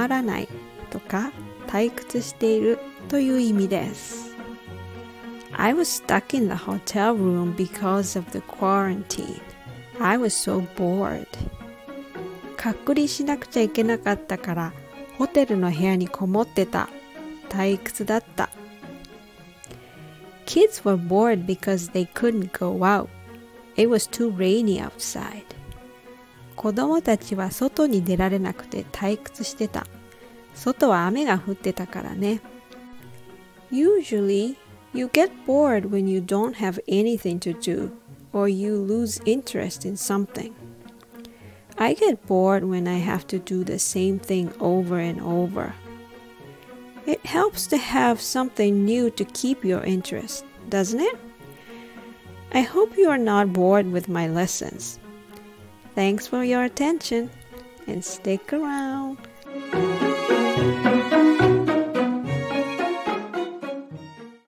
まらないとか退屈しているという意味です。I was stuck in the hotel room because of the quarantine. I was so bored. 隔離しなくちゃいけなかったからホテルの部屋にこもってた。退屈だった。Kids were bored because they couldn't go out. It was too rainy outside. 子供たちは外に出られなくて退屈してた。外は雨が降ってたからね。Usually, you get bored when you don't have anything to do or you lose interest in something. I get bored when I have to do the same thing over and over. It helps to have something new to keep your interest, doesn't it? I hope you are not bored with my lessons. Thanks for your attention and stick around.